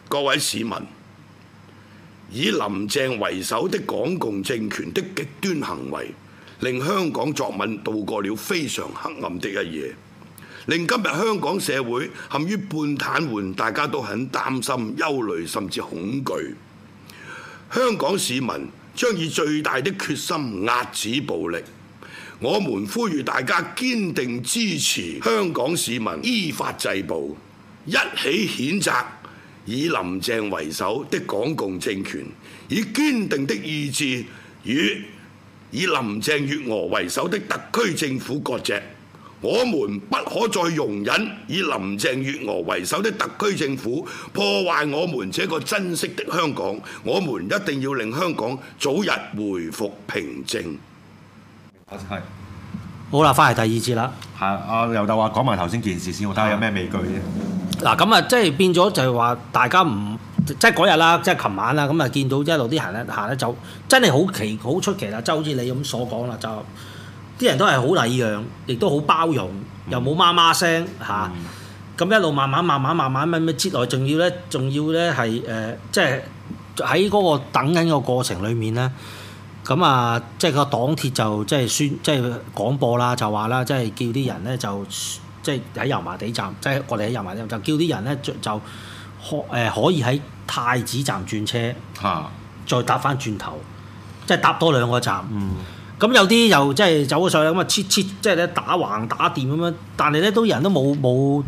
各位市民，以林鄭為首的港共政權的極端行為，令香港作文度過了非常黑暗的一夜，令今日香港社會陷於半癱瘓，大家都很擔心、憂慮甚至恐懼。香港市民將以最大的決心壓止暴力。我們呼籲大家堅定支持香港市民依法制暴，一起譴責以林鄭為首的港共政權，以堅定的意志與以林鄭月娥為首的特區政府割席。我們不可再容忍以林鄭月娥為首的特區政府破壞我們這個珍惜的香港。我們一定要令香港早日回復平靜。 係好啦，翻嚟第二節啦。 係阿劉德華講埋頭先件事先，我睇下有咩味據啫。 嗱咁啊，即係變咗就係話大家唔即係嗰日啦，即係琴晚啦，咁啊見到一路啲人行咧就真係好出奇啦。就好似你咁所講啦，就啲人都係好禮讓，亦都好包容，又冇媽媽聲嚇。咁一路慢慢咩接來，仲要咧係即係喺嗰個等緊個過程裡面咧。咁啊，即係個黨鐵就即係廣播啦，就話啦，即係叫啲人咧就即係喺油麻地站，即係我哋喺油麻地站就叫啲人咧就可以喺太子站轉車，再搭翻轉頭，即係搭多兩個站。咁有啲又即係走咗上去咁啊，即係咧打橫打掂咁樣，但係咧都人都冇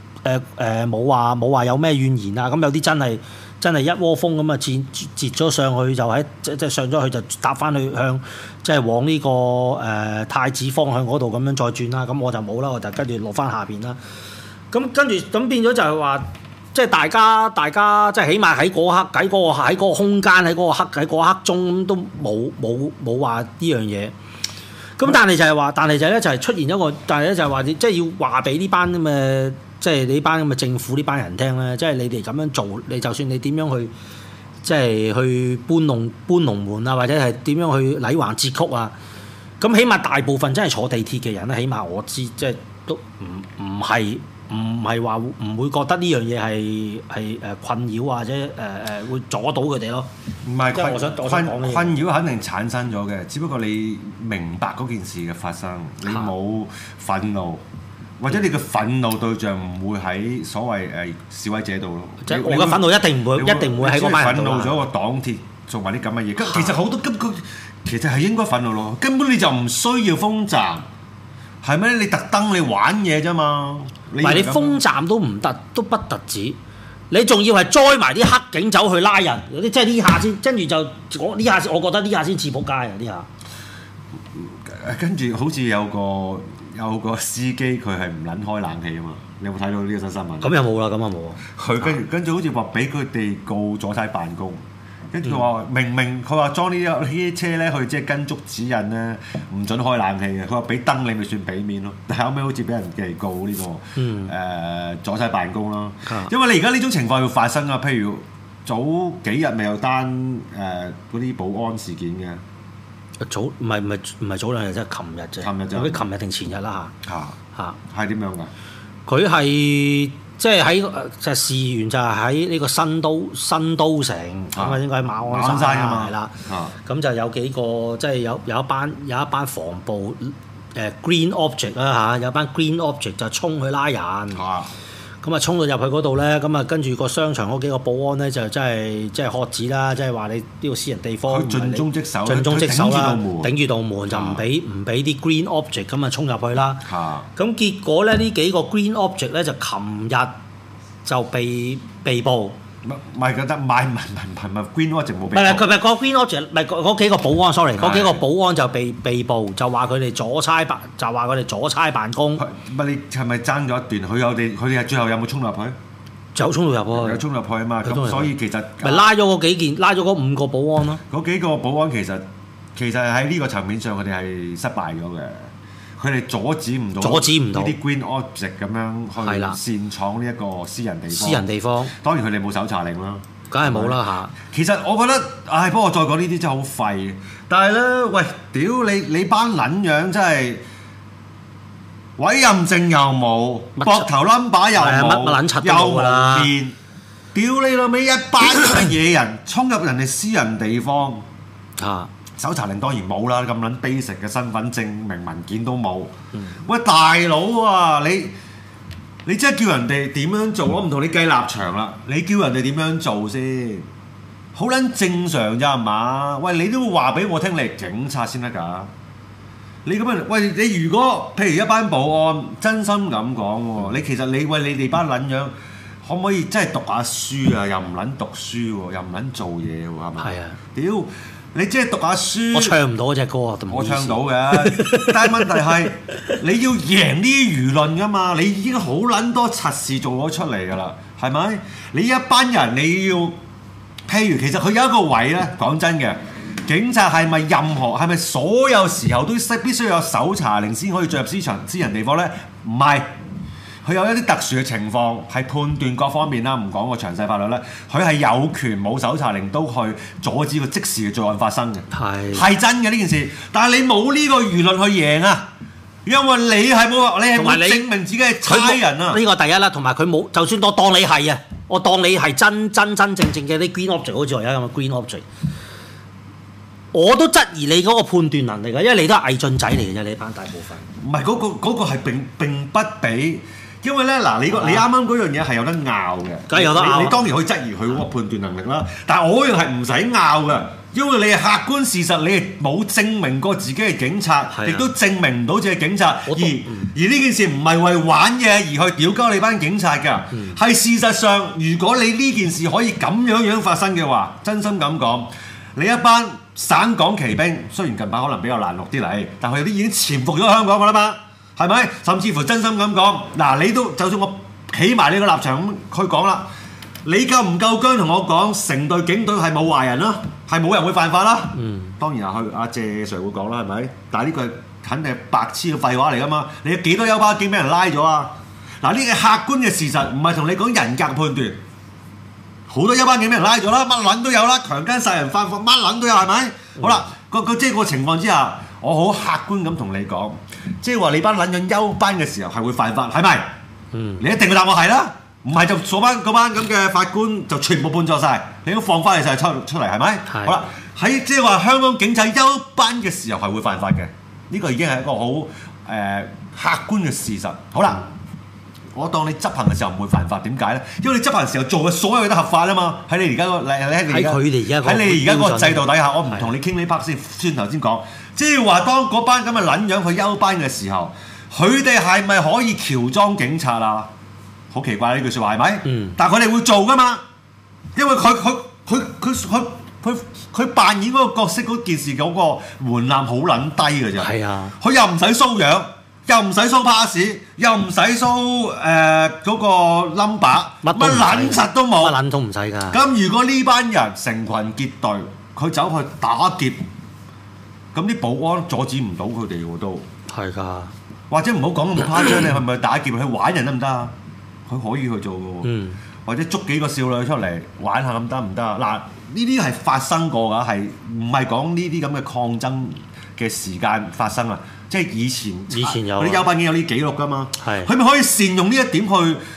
話有咩怨言啊。咁有啲真係一窩蜂咁啊，截咗上去就喺即係上咗去就搭翻去向即係往呢個太子方向嗰度咁樣再轉啦。咁我就冇啦，我就跟住落翻下邊啦。咁跟住咁變咗就係話，即係大家即係起碼喺嗰刻喺嗰個空間喺嗰刻鐘都冇話呢樣嘢。咁但係就係話，但係就咧就係出現一個，但係咧就係話即係要話俾呢班咁嘅。即係呢班咁嘅政府呢班人聽咧，即係你哋咁樣做，你就算你點樣去，即係去搬龍門啊，或者係點樣去禮橫節曲啊，咁起碼大部分真係坐地鐵嘅人咧，起碼我知，即係都唔係話唔會覺得呢樣嘢係困擾或者會阻到佢哋咯。 唔係即係我想講嘅困擾肯定產生咗嘅，只不過你明白嗰件事嘅發生，你冇憤怒。或者你嘅憤怒對象唔會喺所謂示威者度咯， 即係我嘅憤怒一定唔會喺嗰班人度。 憤怒咗個黨鐵做埋啲咁嘅嘢，其實好多其實係應該憤怒咯，根本你就唔需要封站，係咩？你特登你玩嘢啫嘛。 唔係你封站都唔得，都不特止，你仲要係栽埋啲黑警走去拉人，即係呢下先，跟住就呢下，我覺得呢下先似仆街啊！呢下跟住好似有個司機佢係唔撚開冷氣啊嘛！你有冇睇到呢個新聞？ 咁又冇啦，咁又冇啊！ 佢跟住好似話俾佢哋告阻差辦公，跟住佢話明佢話裝呢啲車咧，佢即係跟足指引咧，唔準開冷氣嘅。佢話俾燈你咪算俾面咯，但係後尾好似俾人哋告呢個阻差辦公咯。因為你而家呢種情況要發生啊，譬如早幾日咪有單嗰啲保安事件嘅。 唔係早兩日啫，琴日啫。琴日定前日啦嚇。 係點樣㗎？ 佢係即係喺就事源就係喺呢個新都城咁啊，應該喺馬鞍山㗎嘛，係啦。咁就有幾個即係有一班防暴Green Object 啦嚇，有班 Green Object 就衝去拉人。咁啊，衝到入去嗰度咧，咁啊，跟住個商場嗰幾個保安咧，就真係即係喝止啦，即係話你呢個私人地方， 佢盡忠職守啦，頂住道門就唔俾啲 Green Object 咁啊衝入去啦。咁結果咧，呢幾個 Green Object 咧就琴日就被捕。 唔係覺得唔係 Green Object 冇被捕。 唔係佢個 Green Object 唔係嗰幾個保安 ，sorry， 嗰幾個保安就被捕，就話佢哋阻差辦公。 乜你係咪爭咗一段？佢哋係最後有冇衝入去？ 有衝到入去。 有衝入去啊嘛！咁所以其實咪拉咗嗰5個保安咯。 嗰幾個保安其實喺呢個層面上，佢哋係失敗咗嘅。佢哋阻止唔到呢啲 Green Object 咁樣去擅闖呢一個私人地方。當然佢哋冇搜查令啦， 梗係冇啦嚇。 其實我覺得，不過再講呢啲真係好廢。但係咧，喂，屌你班撚樣真係委任證又冇，膊頭 number 又冇，又冇面。 屌你老味，一班嘅野人衝入人哋私人地方， 啊！ 搜查令當然冇啦，咁撚 basic 嘅身份證明文件都冇。喂，大佬啊，你真係叫人哋點樣做？我唔同你計立場啦，你叫人哋點樣做先？好撚正常咋係嘛？喂，你都會話俾我聽，你係警察先得㗎。你咁樣，喂，你如果譬如一班保安，真心咁講喎，你其實你哋班撚樣，可唔可以真係讀下書啊？又唔撚讀書喎，又唔撚做嘢喎，係咪？ 係啊！ 屌！你即係讀下書， 我唱唔到嗰隻歌啊！ 我唱到嘅，但係問題係你要贏呢啲輿論㗎嘛？你已經好撚多柒事做咗出嚟㗎啦，係咪？你一班人你要，譬如其實佢有一個位咧，講真嘅，警察係咪所有時候都必須有搜查令先可以進入私人地方咧？唔係。佢有一啲特殊嘅情況，係判斷各方面啦，唔講個詳細法律咧，佢係有權冇搜查令都去阻止個即時嘅罪案發生嘅，係真嘅呢件事。但係你冇呢個輿論去贏啊，因為你係冇證明自己係差人啊。 呢個第一啦，同埋佢冇，就算我當你係啊，我當你係真正嘅啲 green object，好似我而家咁嘅 green object，我都質疑你嗰個判斷能力㗎，因為你都係偽進仔嚟嘅啫，你班大部分。 唔係嗰個係並不比。因為咧嗱，你啱啱嗰樣嘢係有得拗嘅， 梗係有得拗。 你當然可以質疑佢嗰個判斷能力啦，但係我嗰樣係唔使拗嘅，因為你係客觀事實，你係冇證明過自己係警察，亦都證明唔到自己係警察。而呢件事唔係為玩嘢而去屌鳩你班警察㗎，係事實上，如果你呢件事可以咁樣發生嘅話，真心咁講，你一班省港旗兵，雖然近排可能比較難錄啲嚟，但係有啲已經潛伏咗香港㗎啦嘛。係咪？甚至乎真心咁講，嗱，你都就算我企埋你個立場咁去講啦，你夠唔夠薑同我講，成隊警隊係冇壞人啦，係冇人會犯法啦？當然阿謝 Sir 會講啦，係咪？但係呢個係肯定係白痴嘅廢話嚟㗎嘛！你有幾多休巴警俾人拉咗啊？嗱，呢個客觀嘅事實，唔係同你講人格判斷。好多休巴警俾人拉咗啦，乜撚都有啦，強姦殺人犯法乜撚都有，係咪？好啦，即係個情況之下。我好客觀咁同你講，即係話你班撚樣休班嘅時候係會犯法，係咪？你一定要答我係啦，唔係就嗰班咁嘅法官就全部判錯晒，你都放翻你晒出嚟，係咪？好啦，喺即係話香港警察休班嘅時候係會犯法嘅，呢個已經係一個好客觀嘅事實。好啦，我當你執行嘅時候唔會犯法，點解咧？因為你執行嘅時候做嘅所有嘢都合法啊嘛。喺你而家個制度底下，我唔同你傾呢 part 先頭先講。即係話，當嗰班咁嘅撚樣去休班嘅時候，佢哋係咪可以喬裝警察啊？好奇怪呢句説話係咪？但係佢哋會做噶嘛，因為佢扮演嗰個角色嗰件事嗰個門檻好撚低嘅啫。係啊，佢又唔使 show 樣，又唔使 show pass，又唔使 show 嗰個 number， 乜撚柒都冇， 乜撚都唔使㗎。 咁如果呢班人成群結隊，佢走去打劫。咁啲保安阻止唔到佢哋喎，都係㗎。或者唔好講咁誇張，你係咪打劫去玩人得唔得啊？佢可以去做嘅喎。或者捉幾個少女出嚟玩下咁得唔得啊？嗱，呢啲係發生過㗎，係唔係講呢啲咁嘅抗爭嘅時間發生啊？即係以前有嗰啲休班已經有呢記錄㗎嘛。係。佢咪可以善用呢一點去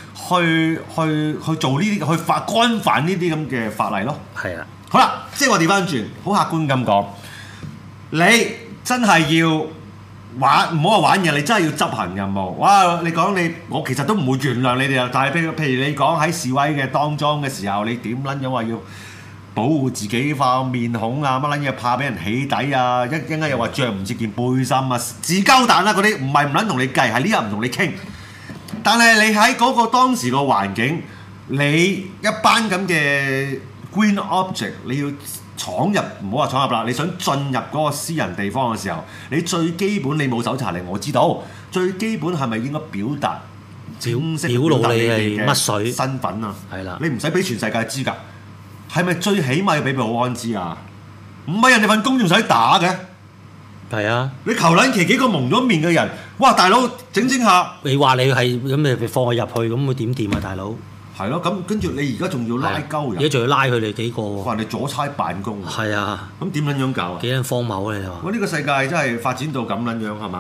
做呢啲去干犯呢啲咁嘅法例咯。係啊。好啦，即係我調翻轉，好客觀咁講。你真係要玩，唔好話玩嘢，你真係要執行任務。哇！你講我其實都唔會原諒你哋啊。但係譬如你講喺示威嘅當中嘅時候，你點撚樣話要保護自己塊面孔啊？乜撚嘢怕俾人起底啊？一陣間又話着唔切件背心啊？自鳩蛋啦嗰啲，唔係唔撚同你計，係呢日唔同你傾。但係你喺嗰個當時個環境，你一班咁嘅 green object， 你要闖入，唔好話闖入啦！你想進入嗰個私人地方嘅時候，你最基本你冇搜查令，我知道。最基本係咪應該表達正式表露你係乜水身份啊？係啦，你唔使俾全世界知㗎。係咪最起碼要俾保安知啊？唔係人哋份工仲使打嘅。係啊！你求撚其幾個蒙咗面嘅人，哇！大佬整下，你話你係咁，你放佢入去，咁會點掂啊？大佬係咯，咁跟住你而家仲要拉鳩人，而家仲要拉佢哋幾個喎？話你阻差辦公，係啊，咁點撚樣搞啊？幾撚荒謬啊！你話？我呢個世界真係發展到咁撚樣係嘛？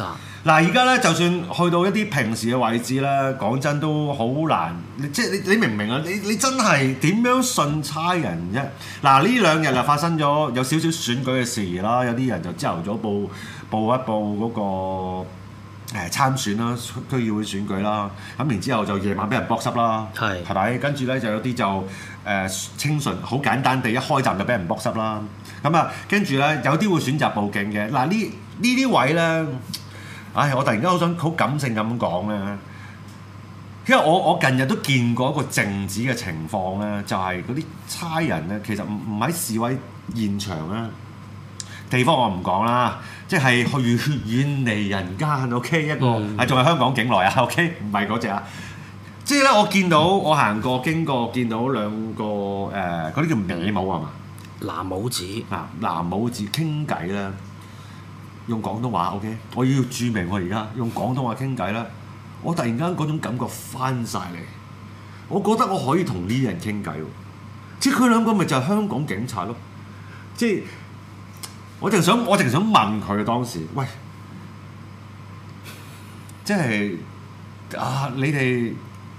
嗱，而家咧就算去到一啲平時嘅位置咧，講真都好難。即係你明唔明啊？你真係點樣信差人啫？嗱，呢兩日啊發生咗有少少選舉嘅事啦，有啲人就朝頭早報一報嗰個參選啦，區議會選舉啦，咁然之後就夜晚俾人剝濕啦，係咪？跟住咧就有啲就清純好簡單地一開站就俾人剝濕啦。咁啊，跟住咧有啲會選擇報警嘅。嗱，呢啲位咧。唉，我突然間好感性咁講咧，因為我近日都見過一個靜止嘅情況咧，就係嗰啲差人咧，其實唔喺示威現場咧，地方我唔講啦，即係去遠離人間 ，OK 一個係仲係香港境內啊 ，OK 唔係嗰隻啊，即係咧我見到我行過經過見到兩個嗰啲叫咩帽係嘛？ 藍帽子藍帽子傾偈咧。用廣東話 OK， 我要注明我而家用廣東話傾偈啦。我突然間嗰種感覺翻晒嚟，我覺得我可以同呢啲人傾偈喎。即係佢兩個咪就係香港警察咯。即係我淨想問佢當時，喂，即係你哋，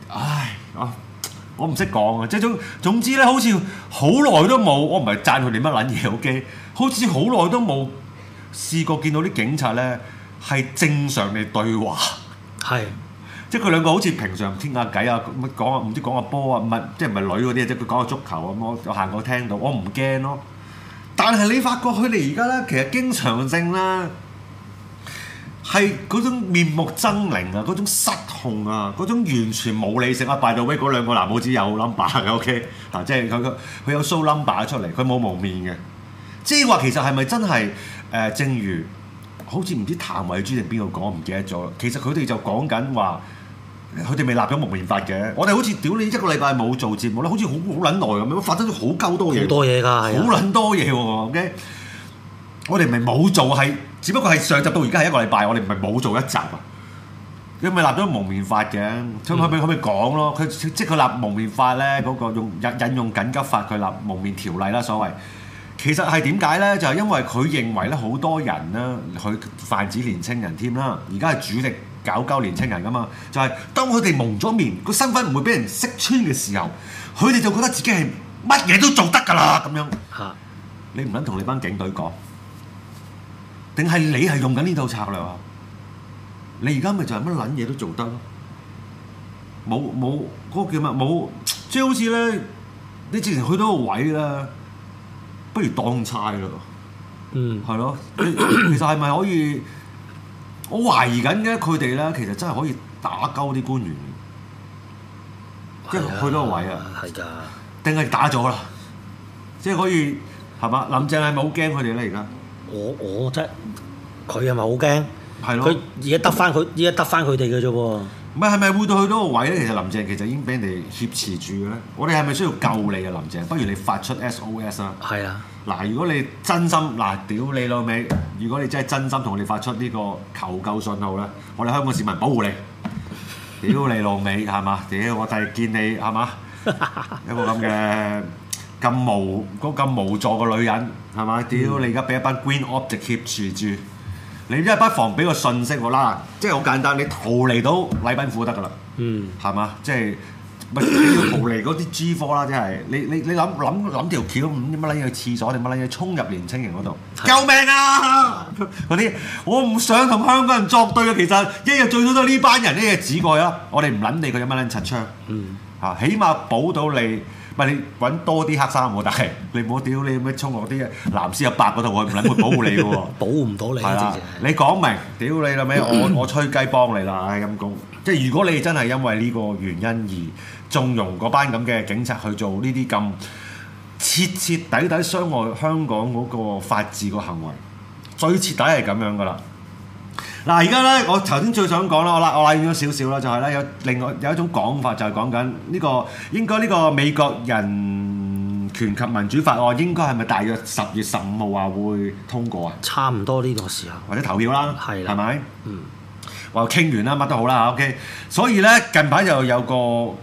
我唔識講啊。即係總之咧，好似好耐都冇，我唔係讚佢哋乜撚嘢 OK， 好似好耐都冇。試過見到啲警察咧係正常嘅對話，即係佢兩個好似平常傾下偈啊，乜講啊，唔知講下波啊，唔係即係唔係女嗰啲，即係佢講下足球咁，我行過聽到，我唔驚咯。但係你發覺佢哋而家咧，其實經常性啦，係嗰種面目猙獰啊，嗰種失控啊，嗰種完全冇理性啊。by the way，嗰兩個藍帽子有 number 嘅 OK， 即係佢有 show number 出嚟，佢冇蒙面嘅。即係話其實係咪真係？正如好似唔知譚慧珠定邊個講，我唔記得咗。其實佢哋就講緊話，佢哋未立咗蒙面法嘅。我哋好似屌你一個禮拜冇做節目咧，好似好撚耐咁樣，發生咗好鳩多嘢。 好多嘢㗎， 好撚多嘢喎。OK， 我哋唔係冇做，係只不過係上集到而家係一個禮拜，我哋唔係冇做一集啊。佢咪立咗蒙面法嘅，咁可唔可以講咯？佢即係佢立蒙面法咧，嗰個引用緊急法，佢立蒙面條例啦，所謂。其實係點解咧？就係因為佢認為咧，好多人咧，佢泛指年青人添啦。而家係主力搞鳩年青人噶嘛。就係當佢哋蒙咗面，個身份唔會俾人識穿嘅時候，佢哋就覺得自己係乜嘢都做得㗎啦咁樣。你唔撚同你班警隊講，定係你係用緊呢套策略啊？你而家咪就係乜撚嘢都做得咯？冇嗰個叫乜？冇即係好似咧，你之前去到個位啦。不如當差咯，係咯。其實係咪可以？我懷疑緊嘅佢哋咧，其實真係可以打鳩啲官員，即係去到個位啊。係㗎，定係打咗啦？即係可以係嘛？林鄭係咪好驚佢哋咧？而家我真佢係咪好驚？ 係咯。佢而家得翻佢哋嘅啫喎。 唔係咪會到去到個位咧？其實林鄭其實已經俾人哋挾持住嘅咧。我哋係咪需要救你啊？林鄭，不如你發出 SOS 啦。係啊。嗱，如果你真心屌你老味，如果你真係真心同我哋發出呢個求救信號咧，我哋香港市民保護你。屌你老味係嘛？屌我就係見你係嘛？一個咁嘅咁無助嘅女人係嘛？屌你而家俾一班 Green Object 挾持住。你真係不妨俾個信息我啦，即係好簡單，你逃離到禮賓府得㗎啦，係嘛？即係咪你要逃離嗰啲 G4啦？即係你諗條橋，乜撚嘢去廁所定乜撚嘢衝入年青人嗰度？救命啊！嗰啲我唔想同香港人作對啊！其實一日最多都係呢班人一日指過啦，我哋唔撚理佢有乜撚柒槍，起碼保到你。唔係你揾多啲黑衫喎，但係你唔好屌你咩衝落啲藍絲一白嗰度，我唔撚會保護你嘅喎， 保護唔到你。係啦， 你講明屌你啦咩？我吹雞幫你啦，陰公。即係如果你真係因為呢個原因而縱容嗰班咁嘅警察去做呢啲咁徹底傷害香港嗰個法治個行為，最徹底係咁樣噶啦。嗱，而家咧，我頭先最想講啦，我拉遠咗少少啦，就係咧有另外有一種講法，就係講緊呢個應該呢個美國人權及民主法案應該係咪大約10月15號話會通過啊？ 差唔多呢個時候， 或者投票啦， 係啦， 係咪？話傾完啦，乜都好啦 ，OK。所以咧近排就有個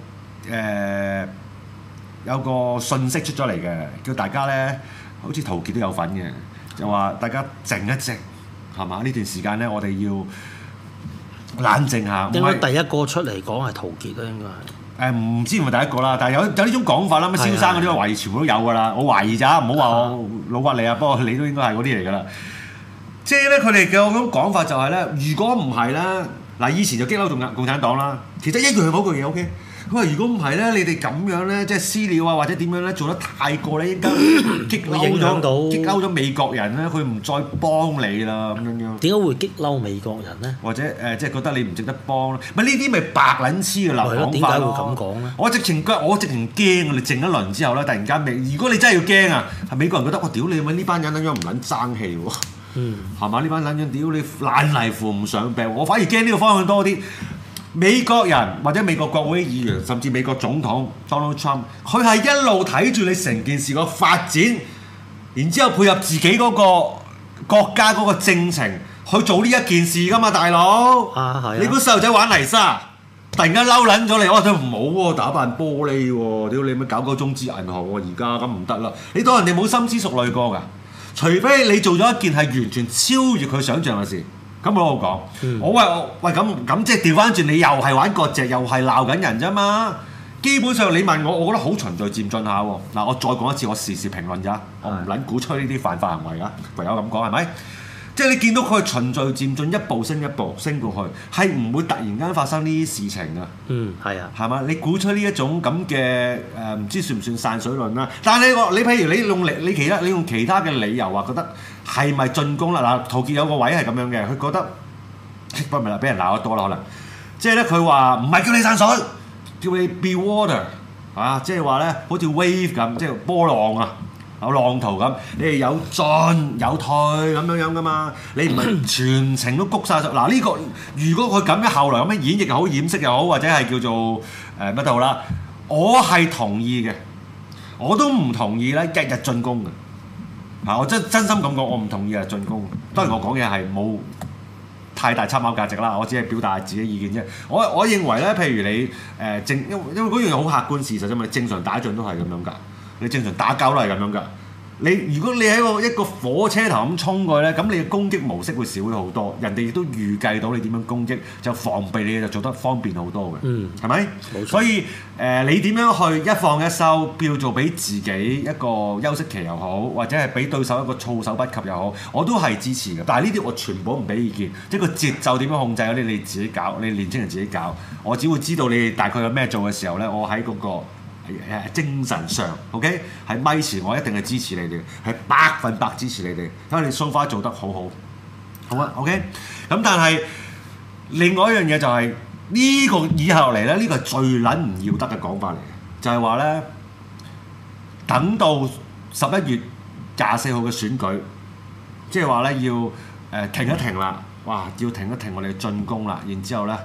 訊息出咗嚟嘅，叫大家咧，好似陶傑都有份嘅，就話大家靜一靜。 係嘛？呢段時間咧，我哋要冷靜下。 應該第一個出嚟講係陶傑啦，應該係。 唔知係咪第一個啦，但係有呢種講法啦，乜蕭生嗰啲懷疑全部都有㗎啦。我懷疑咋，唔好話我老屈你啊。不過你都應該係嗰啲嚟㗎啦。即係咧，佢哋嘅嗰種講法就係咧，如果唔係咧，嗱以前就激嬲共產黨啦，其實一樣係嗰句嘢 OK。佢話：如果唔係咧，你哋咁樣咧，即係私了啊，或者點樣咧，做得太過咧，應該激嬲咗美國人咧，佢唔再幫你啦咁樣。 點解會激嬲美國人咧？ 或者即係覺得你唔值得幫咧？咪呢啲咪白撚黐嘅流講法咯。 點解會咁講咧？ 我直情驚啊！你靜一輪之後咧，突然間如果你真係要驚啊，係美國人覺得我屌你，呢班人撚樣唔撚爭氣喎。係嘛？呢班撚樣屌你爛泥扶唔上病，我反而驚呢個方向多啲。美國人或者美國國會議員，甚至美國總統 Donald Trump， 佢係一路睇住你成件事個發展，然之後配合自己嗰個國家嗰個政情去做呢一件事㗎嘛，大佬。你估細路仔玩泥沙，突然間嬲撚咗你，我話佢唔好喎，打扮玻璃喎，屌你咪搞個中資銀行喎，而家咁唔得啦。你當人哋冇深思熟慮過㗎，除非你做咗一件係完全超越佢想像嘅事。咁我講，我喂咁即係調翻轉，你又係玩割席，又係鬧緊人啫嘛。基本上你問我，我覺得好循序漸進下喎。嗱，我再講一次，我時事評論咋，我唔撚鼓吹呢啲犯法行為㗎，唯有咁講係咪？即係你見到佢循序漸進，一步升一步升過去，係唔會突然間發生呢啲事情㗎。 係啊， 係嘛？你鼓吹呢一種咁嘅唔知算唔算散水論啦？但係你譬如你用其他嘅理由話覺得係咪進攻啦？嗱，陶傑有個位係咁樣嘅，佢覺得不係啦，俾人鬧得多啦可能。即係咧，佢話唔係叫你散水，叫你 be water 啊！即係話咧，好似 wave 咁，即係波浪啊！有浪圖咁，你係有進有退咁樣噶嘛？你唔係全程都谷晒。嗱呢個如果佢咁樣後來咁樣演繹又好，掩飾又好，或者係叫做乜都好啦，我係同意嘅。我都唔同意咧，日日進攻嘅。我真心咁講，我唔同意日進攻。當然我講嘢係冇太大參考價值啦，我只係表達自己意見啫。我認為咧，譬如你因為嗰樣嘢好客觀事實啫嘛，正常打仗都係咁樣㗎。你正常打交都係咁樣㗎。如果你喺一個火車頭咁衝過去咧，咁你嘅攻擊模式會少咗好多。人哋亦都預計到你點樣攻擊，就防備你就做得方便好多嘅。係咪？冇錯。所以你點樣去一放一收，叫做俾自己一個休息期又好，或者係俾對手一個措手不及又好，我都係支持嘅。但係呢啲我全部唔俾意見，即係個節奏點樣控制嗰啲你自己搞，你年輕人自己搞。我只會知道你哋大概有咩做嘅時候咧，我喺嗰個精神上 ，OK， 喺咪前我一定係支持你哋，係100%支持你哋，因為你 so far 做得好好，好啊 ，OK。咁但係另外一樣嘢就係呢個以後嚟咧，呢個係最撚唔要得嘅講法嚟嘅，就係話咧，等到11月24號嘅選舉，即係話咧要停一停啦，哇，要停一停我哋嘅進攻啦，然之後咧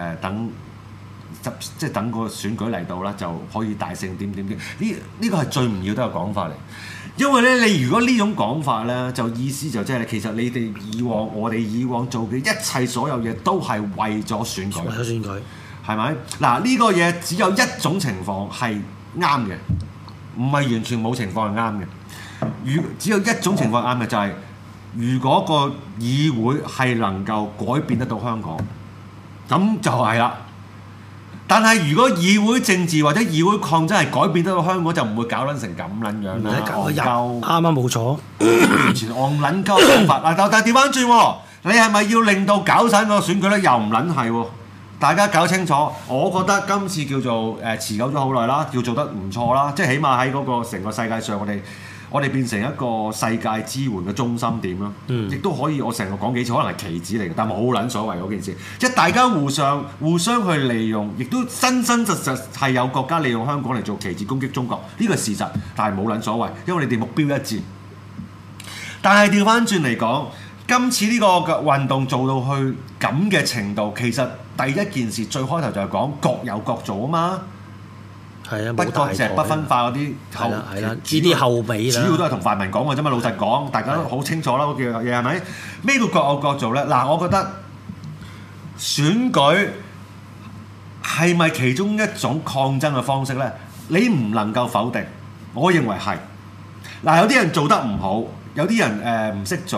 即係等個選舉嚟到啦，就可以大勝點。呢個係最唔要得嘅講法嚟，因為咧你如果呢種講法咧，就意思就即係其實你哋我哋以往做嘅一切所有嘢都係為咗選舉，為咗選舉係咪？嗱呢個嘢只有一種情況係啱嘅，唔係完全冇情況係啱嘅。只有一種情況啱嘅就係如果個議會係能夠改變得到香港，咁就係啦。但係如果議會政治或者議會抗爭係改變得到香港，就唔會搞撚成咁撚樣啦。戇鳩，啱冇錯，完全戇撚鳩講法。但係調翻轉喎，你係咪要令到搞散個選舉咧？又唔撚係喎。大家搞清楚，我覺得今次叫做持久咗好耐啦，叫做得唔錯啦。即係起碼喺嗰個成個世界上，我哋變成一個世界支援嘅中心點咯，亦都可以我成個講幾次，可能係棋子嚟嘅，但係冇撚所謂嗰件事，即係大家互相去利用，亦都真實係有國家利用香港嚟做棋子攻擊中國，呢個係事實，但係冇撚所謂，因為你哋目標一致。但係調翻轉嚟講，今次呢個運動做到去咁嘅程度，其實第一件事最開頭就係講各有各做啊嘛。係啊，不割席不分化嗰啲後，呢啲後尾啦，主要都係同泛民講嘅啫嘛。老實講，大家都好清楚啦，嗰件嘢係咪？咩叫各有各做咧？嗱，我覺得選舉係咪其中一種抗爭嘅方式咧？你唔能夠否定，我認為係。嗱，有啲人做得唔好，有啲人唔識做，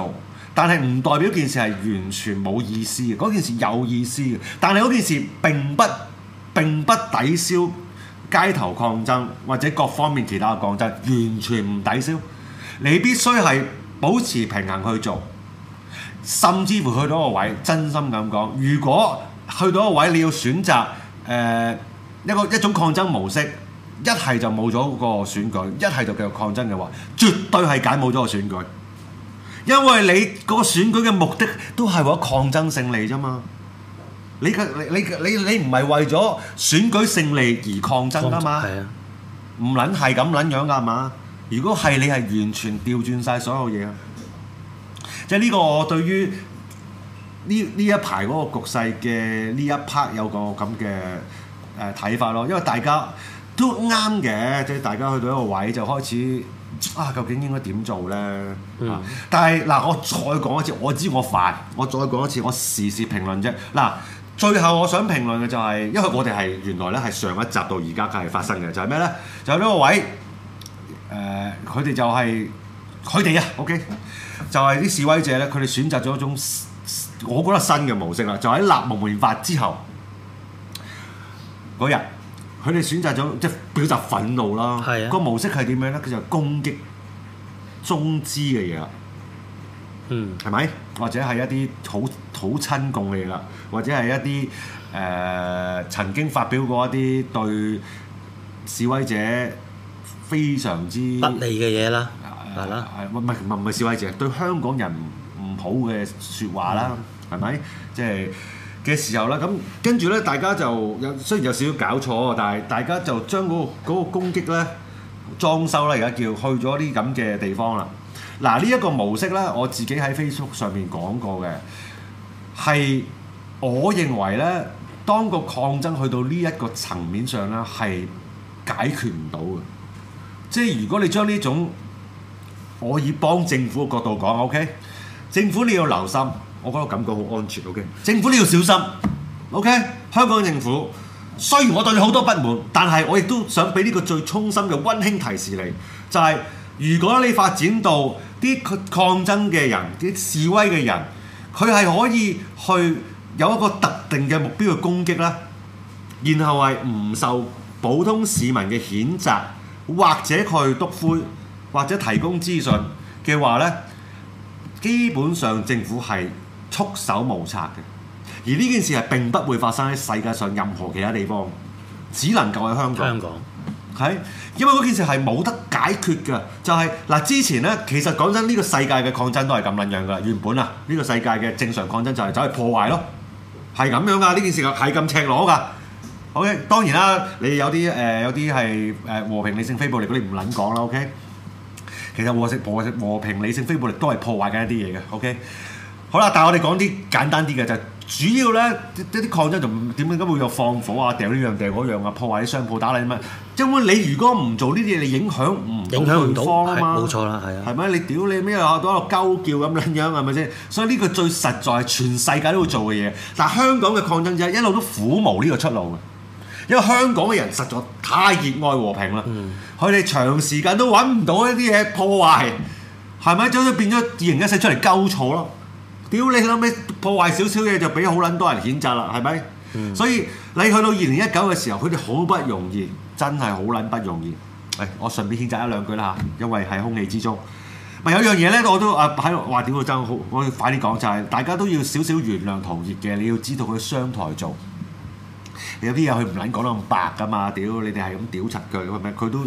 但係唔代表件事係完全冇意思嘅，嗰件事有意思嘅，但係嗰件事並不抵消街頭抗爭或者各方面其他嘅抗爭，完全唔抵消。你必須係保持平衡去做，甚至乎去到一個位，真心咁講，如果去到一個位，你要選擇一種抗爭模式，一係就冇咗個選舉，一係就繼續抗爭嘅話，絕對係揀冇咗個選舉，因為你嗰個選舉嘅目的都係為咗抗爭勝利啫嘛。你唔係為咗選舉勝利而抗爭㗎嘛？係啊，唔撚係咁撚樣㗎嘛？如果係你係完全調轉晒所有嘢啊！即係呢個我對於呢一排嗰個局勢嘅呢一 part 有個咁嘅睇法咯，因為大家都啱嘅，即係大家去到一個位就開始究竟應該點做咧？但係嗱，我再講一次，我知我煩，我再講一次，我時事評論啫。嗱，最後我想評論嘅就係，因為我哋係原來咧係上一集到而家係發生嘅，就係咩咧？就係呢個位。佢哋就係佢哋啊 ，OK， 就係啲示威者咧，佢哋選擇咗一種我覺得新嘅模式啦，就喺立蒙面法之後嗰日，佢哋選擇咗即係表達憤怒啦。係啊，個模式係點樣咧？佢就攻擊中資嘅嘢啦，係咪？或者係一啲好親共嘅嘢啦，或者係一啲曾經發表過一啲對示威者非常之不利嘅嘢啦，係啦， 唔係示威者對香港人唔好嘅説話啦，係咪？即係嘅時候啦，咁跟住咧，大家就雖然有少少搞錯，但係大家就將嗰個攻擊咧裝修啦，而家叫去咗啲咁嘅地方啦。嗱，呢一個模式咧，我自己喺 Facebook 上面講過嘅，係我認為咧，當個抗爭去到呢一個層面上咧，係解決唔到嘅。即係如果你將呢種我以幫政府嘅角度講 ，OK， 政府你要留心，我覺得感覺好安全 ，OK， 政府你要小心 ，OK， 香港政府雖然我對你好多不滿，但係我亦都想俾呢個最衷心嘅溫馨提示你，就係如果你發展到啲抗爭嘅人、啲示威嘅人，佢係可以去有一個特定嘅目標去攻擊啦，然後係唔受普通市民嘅譴責。或者佢督灰，或者提供資訊嘅話咧，基本上政府係束手無策嘅。而呢件事係並不會發生喺世界上任何其他地方，只能夠喺香港。係，因為嗰件事係冇得解決嘅。就係嗱，之前咧，其實講真，呢個世界嘅抗爭都係咁撚樣㗎。原本啊，呢個世界嘅正常抗爭就係走去破壞咯，係咁樣㗎。呢件事係咁赤裸㗎。OK， 當然啦，你有啲係和平理性非暴力嗰啲唔撚講啦。OK， 其實和平理性非暴力都係破壞緊一啲嘢嘅。OK， 好啦，但係我哋講啲簡單啲嘅就係主要咧一啲抗爭就點解會有放火啊、掉呢樣掉嗰樣啊、破壞啲商鋪打你乜？因為你如果唔做呢啲嘢，你影響唔到對方啊嘛。冇錯啦，係啊。係咪？你屌你咩啊？都喺度鳩叫咁樣係咪先？所以呢個最實在係全世界都會做嘅嘢。但係香港嘅抗爭者一路都苦無呢個出路嘅。因為香港嘅人實在太熱愛和平啦，佢哋長時間都揾唔到一啲嘢破壞，係咪？就好似變咗2014出嚟鳩錯咯。屌你諗咩破壞少少嘢就俾好撚多人譴責啦，係咪？所以你去到2019嘅時候，佢哋好不容易，真係好撚不容易。我順便譴責一兩句啦嚇，因為喺空氣之中。咪有樣嘢咧，我都喺度話屌佢真好，我要快啲講就係、大家都要少少原諒陶傑嘅，你要知道佢商台做。有啲嘢佢唔撚講得咁白㗎嘛，屌你哋係咁屌柒佢，係咪？佢都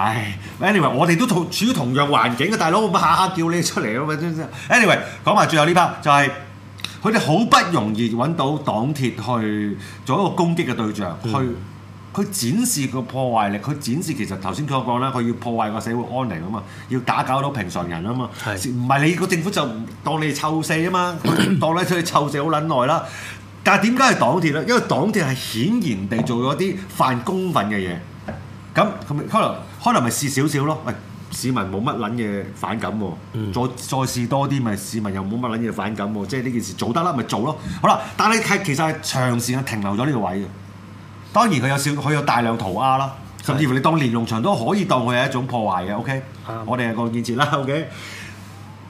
anyway 我哋都處於同樣環境嘅大佬，下下叫你出嚟咯，咪真真。anyway 講埋最後呢 part 就係佢哋好不容易揾到黨鐵去做一個攻擊嘅對象，去展示個破壞力，佢展示其實頭先佢講啦，佢要破壞個社會安寧啊嘛，要打攪到平常人啊嘛，唔係你個政府就當你臭四啊嘛，當你出去臭四好撚耐啦。但係點解係黨鐵咧？因為黨鐵係顯然地做咗啲犯公憤嘅嘢，咁可能咪試少少咯。喂，市民冇乜撚嘢反感喎，再試多啲咪市民又冇乜撚嘢反感喎，即係呢件事做得啦，咪做咯。好啦，但係其實係長時間停留咗呢個位嘅。當然佢有大量塗鴉啦，甚至乎你當連儂牆都可以當佢係一種破壞嘅。OK，我哋係個建設啦。OK，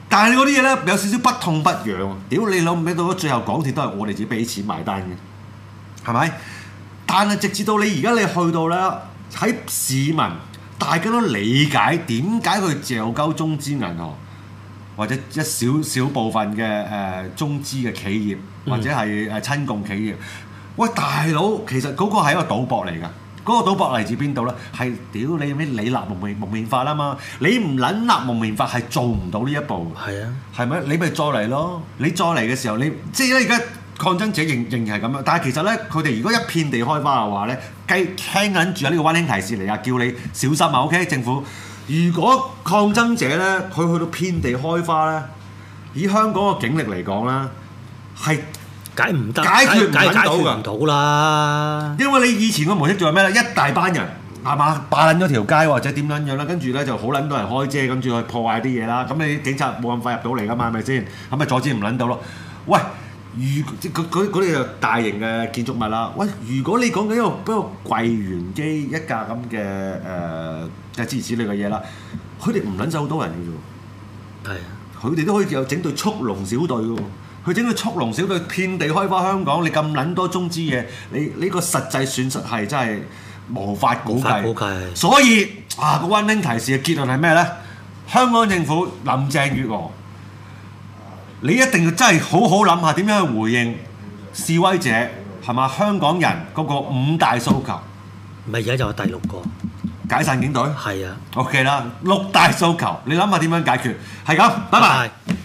但係你嗰啲嘢咧有少少不痛不癢喎。屌你老味到咗最後，港鐵都係我哋自己俾錢埋單嘅，係咪？但係直至到你而家你去到咧，喺市民大家都理解點解佢嚼鳩中資銀行或者一小部分嘅中資嘅企業或者係親共企業，喂大佬，其實嗰個係一個賭博嚟㗎。嗰個賭博嚟自邊度咧？係屌你咩？你立蒙面法啊嘛！你唔撚立蒙面法係做唔到呢一步。係啊，係咪？你咪再嚟咯！你再嚟嘅時候，你即係咧而家抗爭者仍然係咁樣。但係其實咧，佢哋如果一遍地開花嘅話咧，聽緊住有呢個溫馨提示嚟啊，叫你小心啊 ！OK， 政府，如果抗爭者咧佢去到遍地開花咧，以香港嘅警力嚟講啦，係解決唔到啦，因為你以前個模式做係咩咧？一大班人係嘛霸撚咗條街或者點撚樣啦，跟住咧就好撚多人開遮，跟住去破壞啲嘢啦。咁你警察冇咁快入到嚟噶嘛？係咪先？咁咪阻止唔撚到咯？喂，嗰啲就大型嘅建築物啦。喂，如果你講緊一個櫃員機一架咁嘅諸如此類嘅嘢啦，佢哋唔撚走好多人嘅啫。係啊，佢哋都可以有整隊速龍小隊嘅喎。佢整個速龍小隊遍地開花香港，你咁撚多中資嘢，你呢個實際損失係真係無法估計。所以個溫馨提示嘅結論係咩咧？香港政府林鄭月娥，你一定要真係好好諗下點樣去回應示威者係嘛？香港人嗰個5大訴求，咪而家就係第6個解散警隊。係啊 ，OK 啦，6大訴求，你諗下點樣解決？係咁，拜拜。